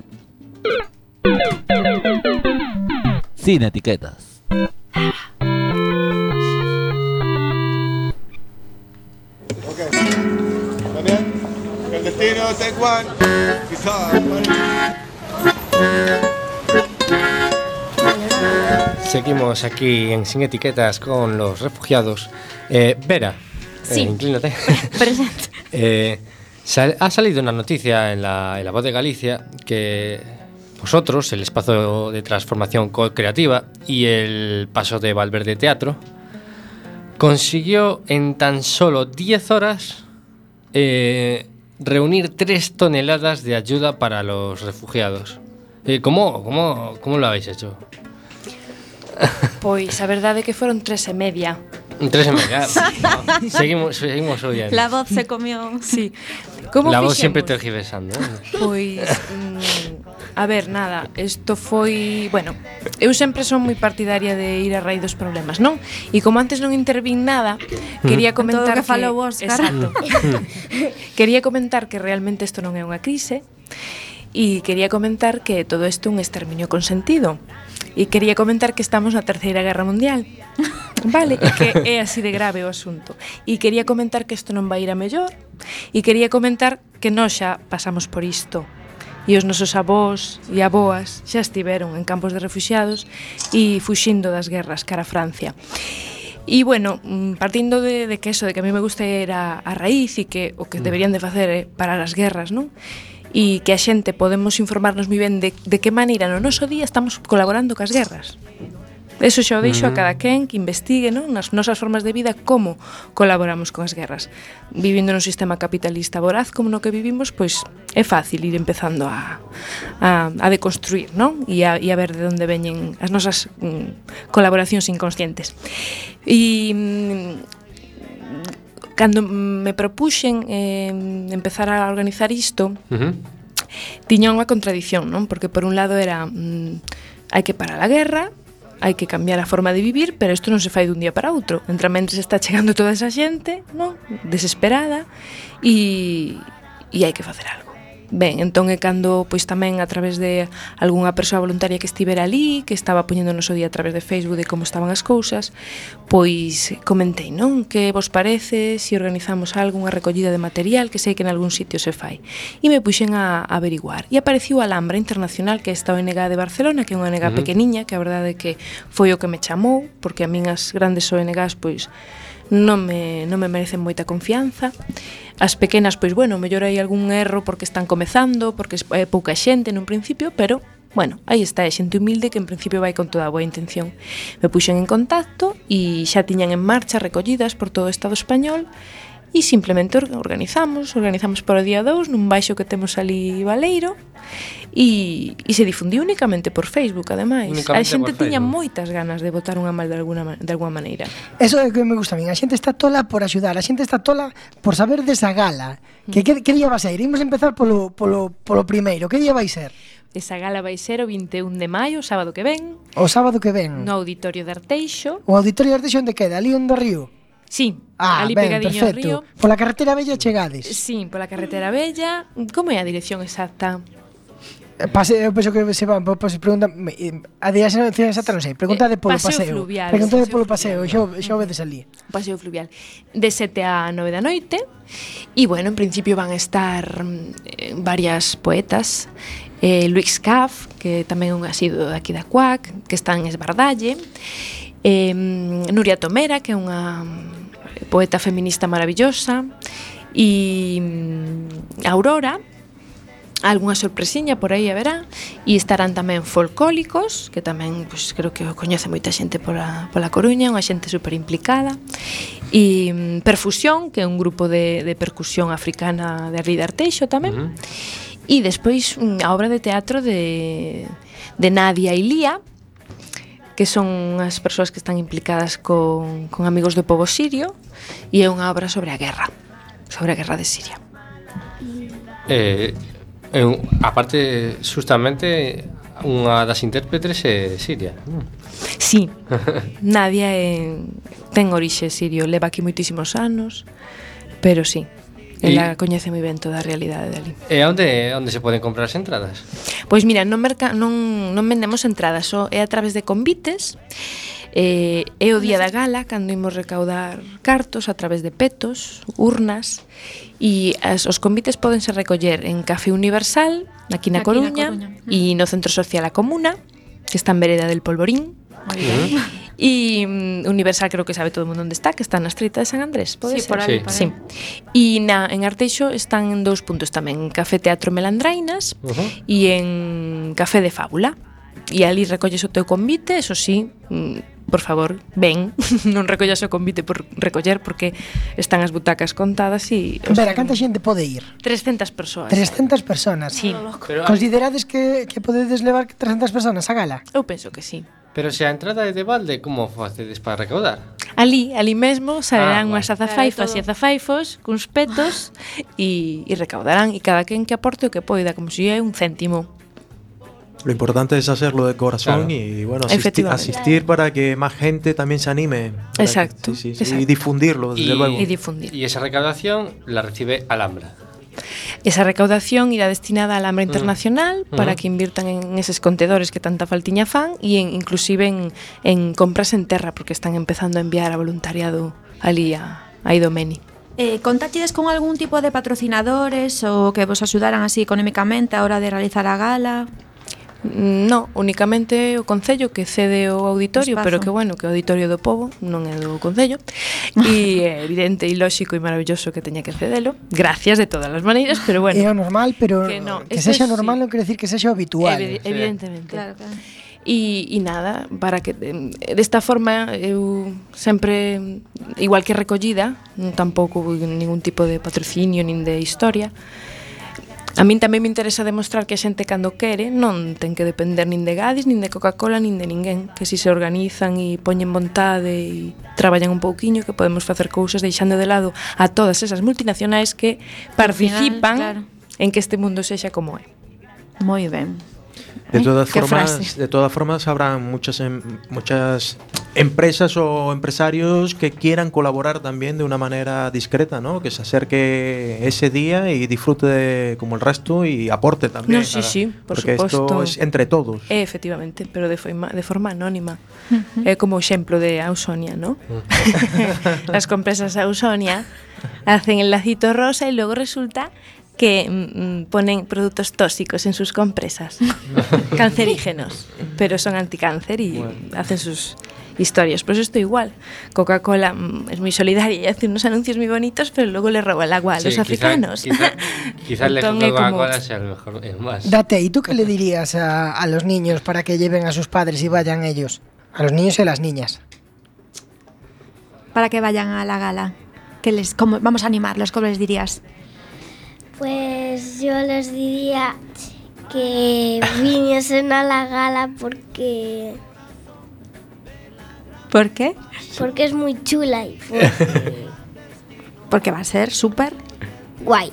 Sin etiquetas. El destino take one. Seguimos aquí en Sin Etiquetas con los refugiados. Vera, sí. Inclínate. Presente. Ha salido una noticia en la Voz de Galicia que vosotros, el espacio de transformación creativa y el paso de Valverde Teatro, consiguió en tan solo 10 horas reunir 3 toneladas de ayuda para los refugiados. ¿Cómo lo habéis hecho? Pois a verdade é que foron 3,5. 3,5. Seguimos oyendo. La voz se comió. Sí. Como La voz fixemos? siempre tergiversando. Pois, a ver, nada, isto foi... Bueno, eu sempre son moi partidaria de ir a raíz dos problemas, non? E como antes non intervín nada, quería comentar todo que falou Óscar. Exacto. Quería comentar que realmente isto non é unha crise e quería comentar que todo isto é un exterminio consentido. E quería comentar que estamos na Terceira Guerra Mundial. Vale, e que é así de grave o asunto. E quería comentar que isto non vai ir a mellor. E quería comentar que nós xa pasamos por isto. E os nosos avós e aboas xa estiveron en campos de refuxiados e fuxindo das guerras cara a Francia. E, bueno, partindo de que eso, de que a mí me gusta ir a raíz e que o que deberían de facer é parar as guerras, non? E que a xente podemos informarnos moi ben de que maneira no noso día estamos colaborando cas guerras. Eso xa o deixo a cada quen que investigue, non? Nas nosas formas de vida como colaboramos con as guerras. Vivindo nun sistema capitalista voraz como no que vivimos, pois é fácil ir empezando a deconstruir, non? E a ver de onde veñen as nosas colaboracións inconscientes. E cando me propuxen empezar a organizar isto, tiña unha contradición, non? Porque por un lado era hai que parar a guerra, hai que cambiar a forma de vivir, pero isto non se fai dun día para outro. Mentre está chegando toda esa xente, non? Desesperada, e hai que facer algo. Ben, entón é cando pois tamén a través de algunha persoa voluntaria que estivera ali, que estaba poñendo o noso día a través de Facebook de como estaban as cousas, pois comentei, non? Que vos parece se organizamos algunha recollida de material que sei que en algún sitio se fai? E me puxen a averiguar. E apareciu a Alhambra Internacional, que é esta ONG de Barcelona, que é unha ONG pequeniña, que a verdade é que foi o que me chamou, porque a min as grandes ONGs pois non me merecen moita confianza. As pequenas, pois bueno, mellor hai algún erro porque están comezando, porque é pouca xente nun principio, pero Bueno, aí está, é xente humilde que en principio vai con toda a boa intención. Me puxen en contacto e xa tiñan en marcha recollidas por todo o Estado español e simplemente organizamos para o día 2 nun baixo que temos ali Baleiro e se difundiu únicamente por Facebook, ademais. A xente tiña moitas ganas de botar unha mal de alguna maneira. Eso é que me gusta a min. A xente está tola por axudar, a xente está tola por saber desa gala. Que día vai ser? Imos empezar polo primeiro. Que día vai ser? Esa gala vai ser o 21 de maio, o sábado que ven. O sábado que ven. No Auditorio de Arteixo. O Auditorio de Arteixo onde queda? Ali onde río? Sí, ali pegadiño ao río. Pola carretera bella chegades? Sí, pola carretera bella. Como é a dirección exacta? Eu penso que se van, pois pregunta a dirección exacta non sei, preguntade polo paseo. Preguntade polo paseo, xa o vedes ali. Paseo fluvial de 7 a 9 da noite. E bueno, en principio van a estar varias poetas. Luis Caf, que tamén é un asiduo aquí da CUAC, que está en Esbardalle. Nuria Tomera, que é unha poeta feminista maravillosa. E Aurora, algunha sorpresiña por aí haberá. E estarán tamén Folcólicos, que tamén pues, creo que o coñece moita xente pola Coruña, unha xente super implicada. E Perfusión, que é un grupo de percusión africana de Ría de Arteixo tamén. E despois a obra de teatro de Nadia e Lía, que son as persoas que están implicadas con Amigos do Pobo Sirio, e é unha obra sobre a guerra de Siria. Aparte, justamente, unha das intérpretes é siria. Sí, Nadia ten orixe sirio, leva aquí moitísimos anos, pero sí, ela coñece moi ben toda a realidade dali. E onde se poden comprar as entradas? Pois mira, non vendemos entradas, só é a través de convites. É o día da gala cando imos recaudar cartos a través de petos, urnas, e os convites podense recoller en Café Universal, aquí na Coruña, e no Centro Social A Comuna, que está en Vereda del Polvorín. E Universal creo que sabe todo o mundo onde está, que está na Estreita de San Andrés, pode ser? Por aí. Sí. E en Arteixo están en 2 puntos tamén, en Café Teatro Melandrainas e en Café de Fábula. E ali recolles o teu convite, eso sí, por favor, ven, non recollas o convite por recoller porque están as butacas contadas e... Vera, canta xente pode ir? 300 persoas. 300 personas? Sí. Considerades que podedes levar 300 personas a gala? Eu penso que sí. Pero se a entrada é de balde, como facedes para recaudar? Ali mesmo saberán unhas azafaifas e azafaifos cuns petos e recaudarán, e cada quen que aporte o que poida, como se é un céntimo. Lo importante es hacerlo de corazón y bueno, asistir para que más gente también se anime. Exacto, exacto. Y difundirlo, desde luego. Y esa recaudación la recibe Alhambra. Esa recaudación irá destinada a Alhambra Internacional para que invirtan en eses contedores que tanta faltiña fan e inclusive en compras en terra, porque están empezando a enviar a voluntariado ali a Idomeni. Contáchedes con algún tipo de patrocinadores ou que vos axudaran así económicamente a hora de realizar a gala? No, únicamente o Concello que cede o auditorio, pero que bueno, que o Auditorio do Pobo non é do Concello. E é evidente e lóxico e maravilloso que teña que cedelo. Gracias de todas as maneiras, pero bueno. É o normal, pero que sexa normal non quere decir que sexa habitual. Evidentemente. Claro. E nada, para que desta forma eu sempre, igual que recollida, tampouco ningún tipo de patrocinio nin de historia. A min tamén me interesa demostrar que a xente cando quere non ten que depender nin de Gadis, nin de Coca-Cola, nin de ninguén, que si se organizan e poñen vontade e traballan un pouquiño, que podemos facer cousas deixando de lado a todas esas multinacionais que participan en que este mundo sexa como é. Moi ben. De todas formas habrá muchas empresas o empresarios que quieran colaborar también de una manera discreta, ¿no? Que se acerque ese día y disfrute como el resto y aporte también. No, sí, por porque suposto. Esto es entre todos. Efectivamente, pero de forma anónima. Como exemplo de Ausonia, ¿no? Las compresas Ausonia hacen el lacito rosa y luego resulta que ponen productos tóxicos en sus compresas, cancerígenos, pero son anticáncer y hacen sus... historias. Pues esto igual. Coca-Cola es muy solidaria y hace unos anuncios muy bonitos, pero luego le roba el agua a los africanos. Quizás el ejemplo de Coca-Cola sea el mejor, el más. Date, ¿y tú qué le dirías a los niños para que lleven a sus padres y vayan ellos? A los niños y a las niñas. Para que vayan a la gala. Vamos a animarlos, ¿cómo les dirías? Pues yo les diría que viniesen a la gala porque ¿Por qué? Porque es muy chula y porque va a ser súper guay.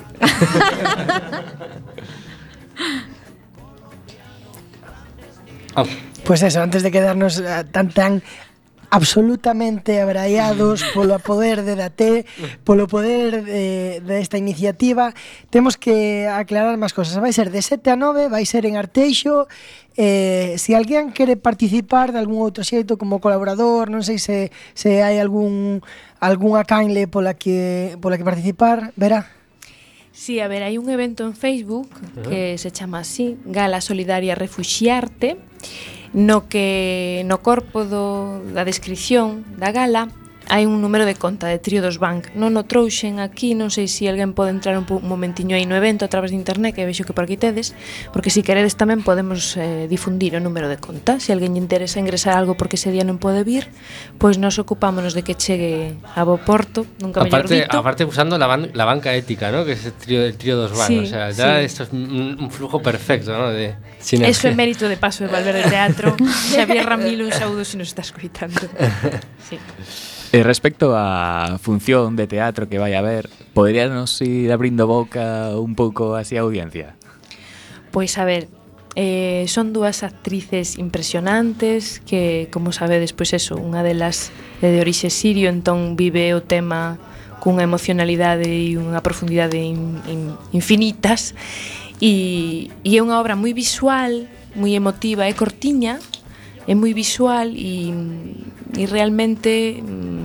Pues eso, antes de quedarnos tan absolutamente abraiados polo poder de Daté, polo poder de esta iniciativa, temos que aclarar máis cosas. Vai ser de 7 a 9, vai ser en Arteixo. Se alguén quere participar de algún outro xeito como colaborador, non sei se hai algunha canle pola que participar, verá. Sí, a ver, hai un evento en Facebook que se chama así, Gala Solidaria Refuxiarte, no corpo da descripción da gala hai un número de conta de Triodos Bank. Non o trouxen aquí, non sei se alguén pode entrar un momentiño aí no evento a través de internet, que vexo que por aquí tedes, porque se queredes tamén podemos difundir o número de conta. Se alguén lle interesa ingresar algo porque ese día non pode vir, pois nos ocupámonos de que chegue a bo porto, nunca mellor dito. Aparte usando la banca ética, ¿no? Que es el Triodos Bank, sí, o sea, ya sí. Esto es un flujo perfecto, ¿no? De sinergia. Eso é mérito de Paso de Valverde Teatro. Xavier Ramilo, un saúdo se nos está escoitando. Sí. Respecto á función de teatro que vai a haber, poderíanos ir abrindo boca un pouco así a audiencia? Pois a ver, son dúas actrices impresionantes que, como sabedes, pois eso, unha delas é de orixe sirio, entón vive o tema cunha emocionalidade e unha profundidade infinitas, e é unha obra moi visual, moi emotiva, é cortiña, é moi visual e realmente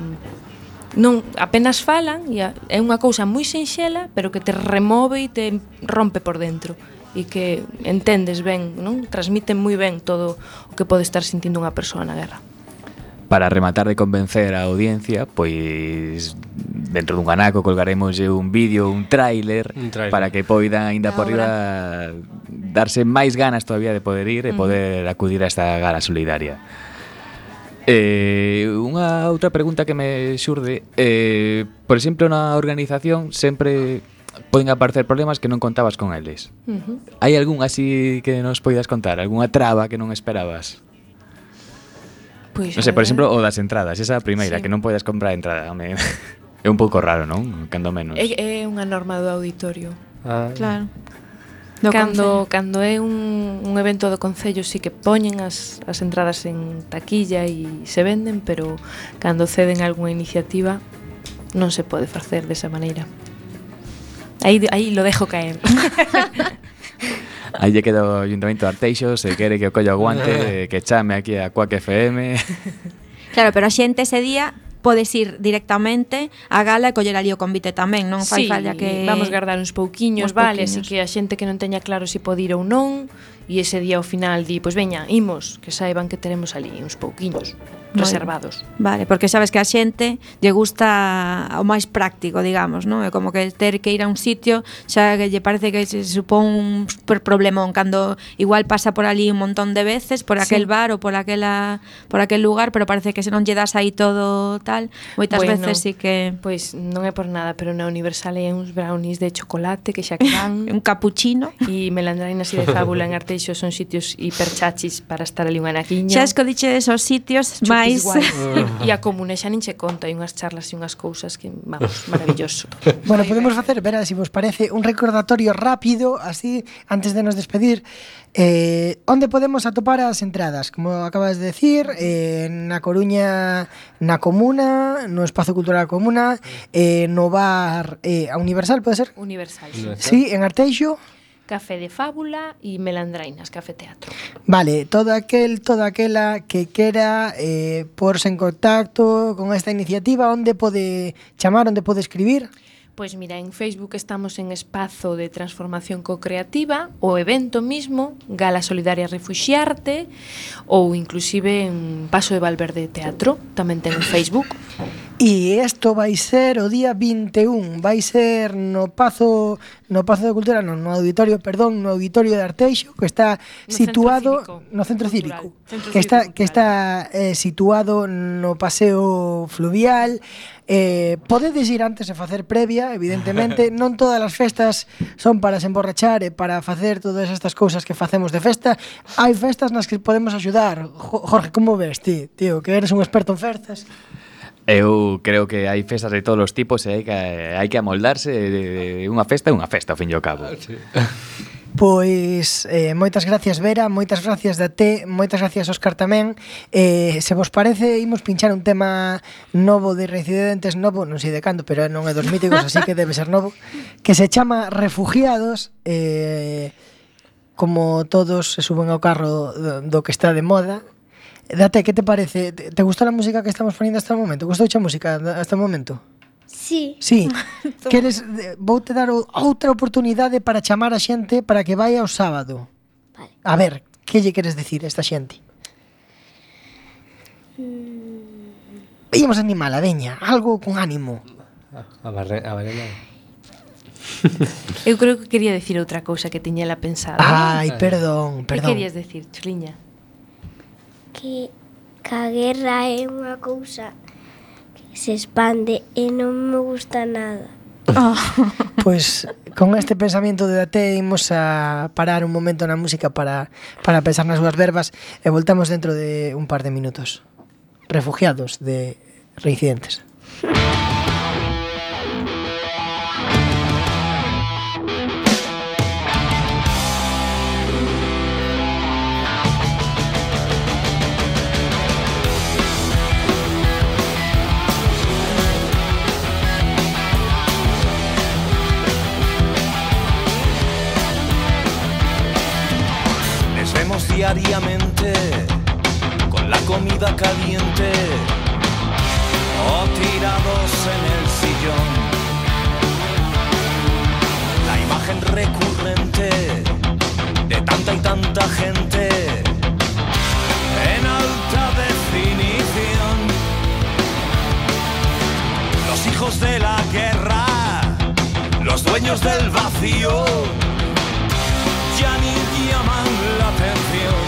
non apenas falan, e é unha cousa moi sinxela, pero que te remove e te rompe por dentro e que entendes ben, non? Transmiten moi ben todo o que pode estar sentindo unha persoa na guerra. Para rematar de convencer a audiencia, pois dentro dun anaco colgaremos un vídeo, un tráiler para que poidan aínda por riba darse máis ganas todavía de poder ir e poder acudir a esta gala solidaria. Unha outra pregunta que me xurde, por exemplo, na organización sempre poden aparecer problemas que non contabas con eles. Hai algún así que nos poidas contar? Algúnha traba que non esperabas? Pois, non sei, por exemplo, o das entradas, esa primeira, sí. Que non podes comprar entrada. É un pouco raro, non? Cando menos. É unha norma do auditorio. Claro. Cando é un evento do Concello sí que poñen as entradas en taquilla e se venden, pero cando ceden algunha iniciativa non se pode facer desa maneira. Aí lo dejo caer. Aí lle queda o Ayuntamiento de Arteixo, se quere que o collo aguante, que chame aquí a Quack FM. Claro, pero a xente ese día podes ir directamente á gala e coller ali o convite tamén, non fai falla que vamos guardar uns pouquiños, vale, así que a xente que non teña claro se pode ir ou non, e ese día ao final di, pois veña, imos, que saiban que teremos ali uns pouquiños reservados. Vale, porque sabes que a xente lle gusta o máis práctico, digamos, non? É como que ter que ir a un sitio xa que lle parece que se supón un super problemón cando igual pasa por ali un montón de veces por aquel bar ou por aquel lugar, pero parece que se non lle das aí todo tal, moitas veces sí que pois non é por nada, pero na Universal hai uns brownies de chocolate que xa que van un capuchino e melandrainas e de fábula en Arteixo son sitios hiperchachis para estar ali unha naquiña. Xa escodiche esos sitios máis e a comune xa nin che conta, hai unhas charlas e unhas cousas que, vamos, maravilloso. Bueno, podemos facer, verá, se vos parece, un recordatorio rápido, así, antes de nos despedir. Onde podemos atopar as entradas? Como acabas de decir, na Coruña, na Comuna, no Espazo Cultural Comuna, no bar a Universal, pode ser? Universal, sí, en Arteixo. Café de Fábula e Melandrainas, Café Teatro. Vale, toda aquela que quera porse en contacto con esta iniciativa, onde pode chamar, onde pode escribir? Pois mira, en Facebook estamos en Espazo de Transformación Co-Creativa, o evento mismo, Gala Solidaria Refuxiarte, ou inclusive en Paso de Valverde Teatro, tamén ten en Facebook. E isto vai ser o día 21, vai ser no Pazo de Cultura, no Auditorio de Arteixo, que está situado no Centro Cívico, que está situado no Paseo Fluvial. Podedes ir antes e facer previa, evidentemente. Non todas as festas son para se emborrachar e para facer todas estas cousas que facemos de festa. Hai festas nas que podemos axudar. Jorge, como ves ti, tío, que eres un experto en festas? Eu creo que hai festas de todos os tipos e hai que amoldarse. Unha festa é unha festa, ao fin e ao cabo. Sí. Pois moitas gracias, Vera, moitas gracias Date, moitas gracias Óscar tamén. Se vos parece, imos pinchar un tema novo de Reincidentes, novo, non sei de cando, pero non é dos míticos, así que debe ser novo, que se chama Refugiados. Como todos se suben ao carro do que está de moda. Date, que te parece? Te gustou a música que estamos poniendo hasta o momento? Gustouche a música hasta o momento? Sí. Sí. Queres, voute dar outra oportunidade para chamar a xente para que vai ao sábado. Vale. A ver, que lle queres decir a esta xente? Íamos animala, veña, algo con ánimo. A Varela. Eu creo que quería decir outra cousa que tiñela pensada. Ai, perdón. Que querías decir, Chuliña? Que a guerra é unha cousa se expande e non me gusta nada. Pois con este pensamento de Date imos a parar un momento na música para pensar nas súas verbas e voltamos dentro de un par de minutos. Refugiados de Reincidentes. Diariamente con la comida caliente o tirados en el sillón. La imagen recurrente de tanta y tanta gente en alta definición. Los hijos de la guerra, los dueños del vacío, ya ni llaman la atención.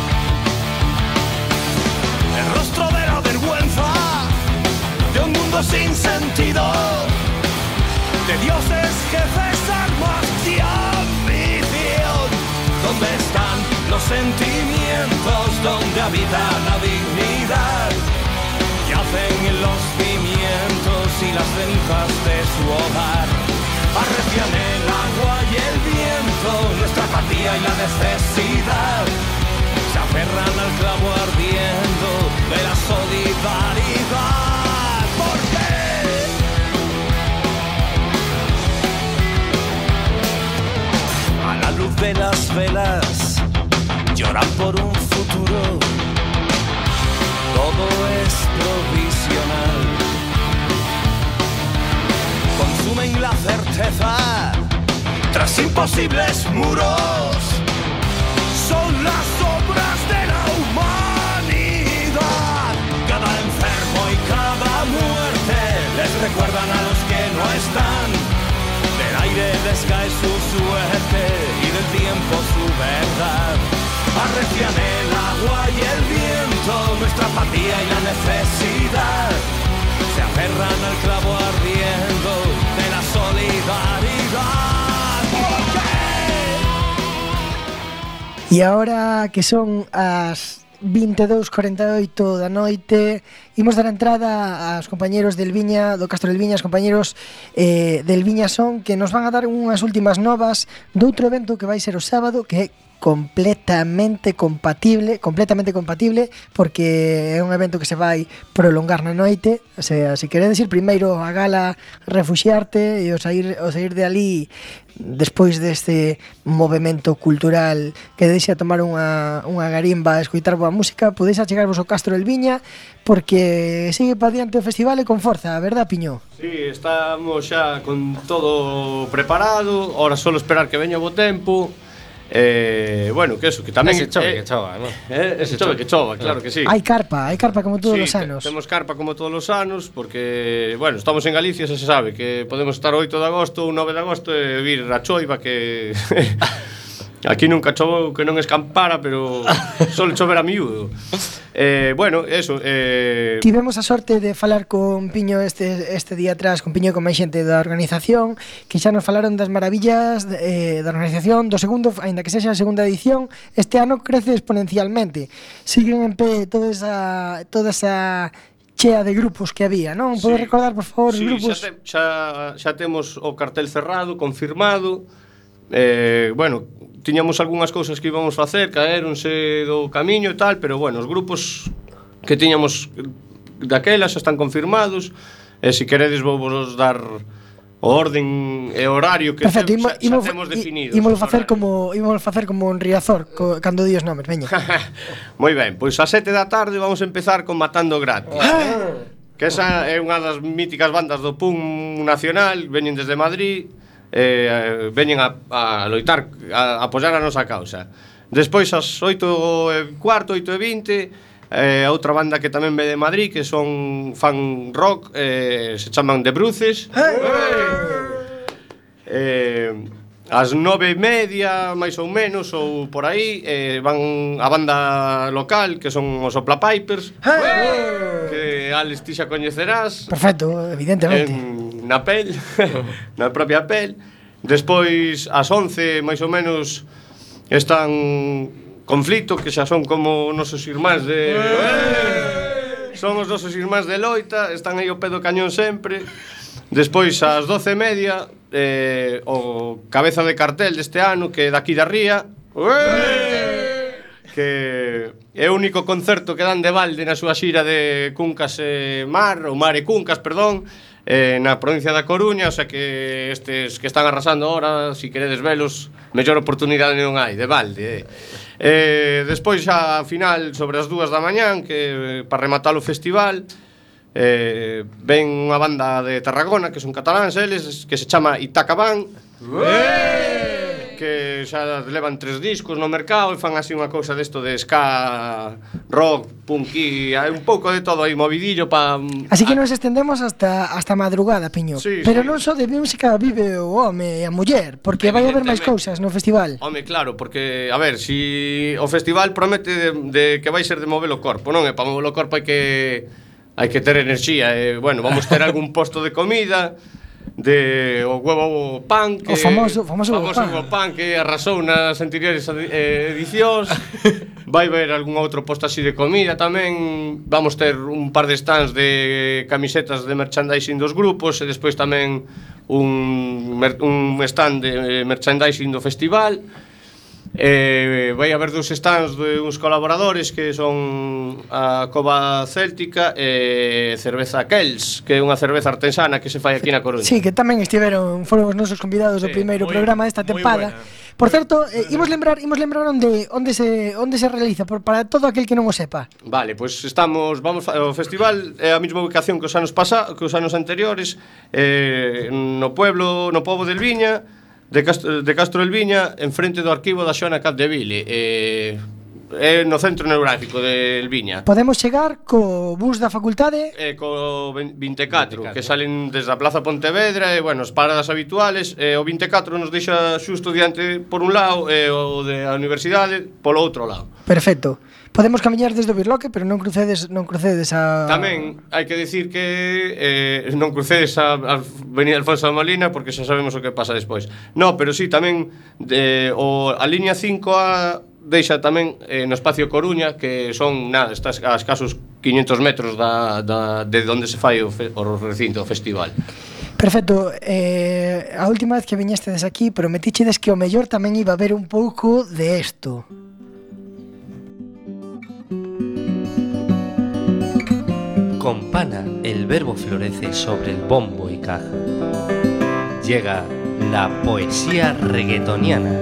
El rostro de la vergüenza de un mundo sin sentido, de dioses, jefes, armas y ambición. ¿Dónde están los sentimientos? ¿Dónde habita la dignidad? Yacen en los cimientos y las cenizas de su hogar. Arrecian el agua y el viento, nuestra apatía y la necesidad. Se aferran al clavo ardiendo de la solidaridad. ¿Por qué? A la luz de las velas lloran por un futuro. Todo es provisional. Consumen la certeza tras imposibles muros. Son las obras de la humanidad. Cada enfermo y cada muerte les recuerdan a los que no están. Del aire les cae su suerte y del tiempo su verdad. Arrecian el agua y el viento, nuestra apatía y la necesidad. Se aferran al clavo ardiendo de la solidaridad. ¿Por qué? E agora que son as 22:48 da noite, imos dar a entrada aos compañeros del Viña, do Castro del Viña, os compañeros del Viña Son, que nos van a dar unhas últimas novas doutro evento que vai ser o sábado, que completamente compatible, porque é un evento que se vai prolongar na noite. O sea, se queredes ir primeiro a gala refuxiarte e o sair de ali despois deste movemento cultural que deixa tomar unha garimba e escoitar boa música, podeis achegarvos ao Castro del Viña, porque sigue para diante o festival e con forza, verdad, Piño? Sí, estamos xa con todo preparado, ahora solo esperar que veña o bo tempo. Bueno, que eso, que tamén ese chove que chova, ¿no? Ese chove que chova, claro que sí. Hai carpa como todos os anos. Temos carpa como todos os anos, porque, bueno, estamos en Galicia, se sabe que podemos estar o 8 de agosto ou 9 de agosto e vir a choiva que aquí nunca chovou que non escampara, pero solo chover a miúdo. Bueno, eso. Tivemos a sorte de falar con Piño este día atrás, con Piño e con máis xente da organización, que xa nos falaron das maravillas da organización do segundo, aínda que sexa a segunda edición. Este ano crece exponencialmente. Siguen en pé toda esa chea de grupos que había, non? Podes recordar, por favor, os grupos? Xa temos o cartel cerrado, confirmado. Bueno, tiñamos algunhas cousas que íbamos facer, caéronse do camiño e tal, pero bueno, os grupos que tiñamos daquela xa están confirmados. E se queredes vou vos dar o orden e horario que xa temos definido. Ímolo facer como un Riazor cando di os nomes, veña. Moi ben, pois a 7 da tarde vamos a empezar con Matando Gratis. Que esa é unha das míticas bandas do punk nacional, veñen desde Madrid. Veñen a loitar, a apoiar a nosa causa. Despois as 8:15, 8:20, a outra banda que tamén ve de Madrid, que son fan rock, se chaman The Bruces. As 9:30, máis ou menos, ou por aí, van a banda local, que son os Sopla Pipers, que Alex ti xa coñecerás. Perfecto, evidentemente. Na pel, na propia pel. Despois, ás 11, máis ou menos, están Conflito, que xa son como nosos irmáns de... Son os nosos irmáns de loita, están aí ao pé do cañón sempre. Despois, ás 12:30, o cabeza de cartel deste ano, que é daqui da Ría, que é o único concerto que dan de balde na súa xira de Cuncas e Mar, ou Mar e Cuncas, perdón, na provincia da Coruña. O sea que estes que están arrasando ahora, si queredes velos, mellor oportunidade non hai, de balde. Despois xa a final sobre as 2 da mañán, que para rematar o festival, ven unha banda de Tarragona, que son cataláns eles, que se chama Itaca Band, que xa levan 3 discos no mercado e fan así unha cousa desto de ska, rock, punky, hai un pouco de todo aí movidillo pa... Así que nos estendemos hasta madrugada, Piño. Sí, pero sí. Non só de música vive o home e a muller, porque vai haber máis cousas no festival. Home, claro, porque, a ver, si o festival promete de que vai ser de mover o corpo, non? E para mover o corpo hai que ter enerxía. Bueno, vamos ter algún posto de comida, de o huevo pan, que o famoso huevo pan que arrasou nas anteriores edicións. Vai haber algún outro posto así de comida tamén. Vamos ter un par de stands de camisetas de merchandising dos grupos e despois tamén un stand de merchandising do festival. Vai haber 2 stands de uns colaboradores que son a Cova Céltica e Cerveza Kells, que é unha cerveza artesana que se fai aquí na Coruña. Sí, que tamén foron os nosos convidados do primeiro programa desta tempada. Por certo, imos lembrar onde se realiza para todo aquel que non o sepa. Vale, pois o festival é a mesma ubicación que os anos anteriores, no pobo del Viña, de Castro del Viña, enfrente do arquivo da Xoana Capdeville, é no centro neurálgico del Viña. Podemos chegar co bus da facultade? Co 24, que salen desde a Plaza Pontevedra, e, bueno, as paradas habituales. O 24 nos deixa xusto diante por un lado, e o de a universidade polo outro lado. Perfecto. Podemos camiñar desde o Birloque, pero non crucedes a... Tamén hai que decir que non crucedes a Avenida Alfonso de Molina, porque xa sabemos o que pasa despois. No, pero sí, tamén a liña 5A deixa tamén no espacio Coruña, que son, estás a escasos 500 metros de onde se fai o recinto, o festival. Perfecto. A última vez que viñestes aquí prometíchedes que o mellor tamén iba a haber un pouco de esto. Con pana el verbo florece sobre el bombo y caja. Llega la poesía reggaetoniana.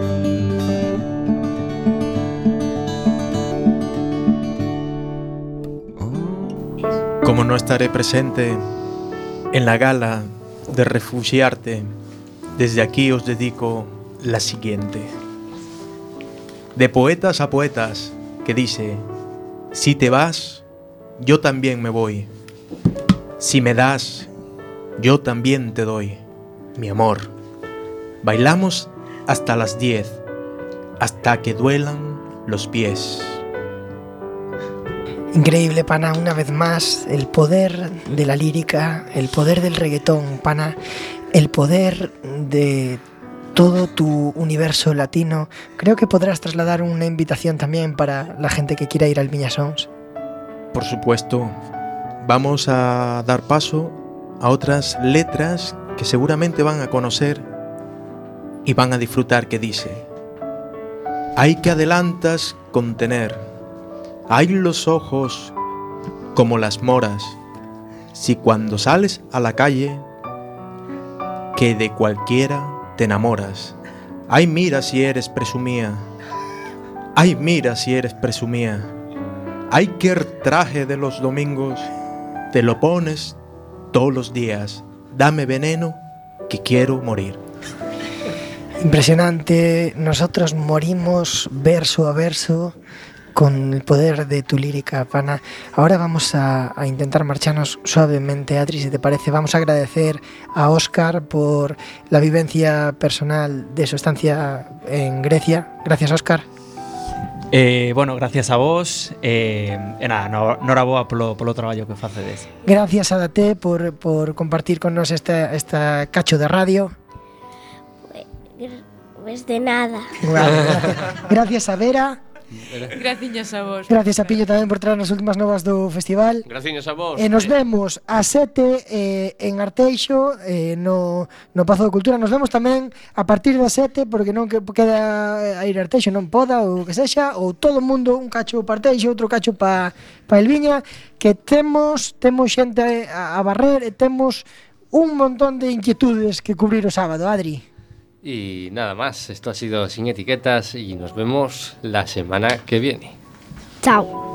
Como no estaré presente en la gala de Refugiarte, desde aquí os dedico la siguiente. De poetas a poetas, que dice: si te vas, yo también me voy. Si me das, yo también te doy. Mi amor, bailamos hasta las 10, hasta que duelan los pies. Increíble, pana, una vez más, el poder de la lírica, el poder del reggaetón, pana, el poder de todo tu universo latino. Creo que podrás trasladar una invitación también para la gente que quiera ir al Viña Sons. Por supuesto, vamos a dar paso a otras letras que seguramente van a conocer y van a disfrutar, que dice: hay que adelantas contener, hay los ojos como las moras, si cuando sales a la calle, que de cualquiera te enamoras. Ay, mira si eres presumía, ay, mira si eres presumía. Ay, qué traje de los domingos, te lo pones todos los días. Dame veneno que quiero morir. Impresionante. Nosotros morimos verso a verso con el poder de tu lírica, pana. Ahora vamos a intentar marcharnos suavemente, Adri, si te parece. Vamos a agradecer a Óscar por la vivencia personal de su estancia en Grecia. Gracias, Óscar. Bueno, gracias a vos. Nada, noraboa polo traballo que facedes. Gracias a Date por compartir con nos esta cacho de radio. Pues de nada. Gracias a Vera. Gracias a vos. Gracias a Pillo tamén por traer as últimas novas do festival. Gracias a vos. Nos vemos a 7 en Arteixo, no Pazo de Cultura. Nos vemos tamén a partir das 7, porque non que queda a ir a Arteixo, non poda, ou que sexa, ou todo o mundo, un cacho para Arteixo, outro cacho para El Viña, que temos xente a barrer e temos un montón de inquietudes que cubrir o sábado, Adri. Y nada más, esto ha sido Sin Etiquetas y nos vemos la semana que viene. Chao.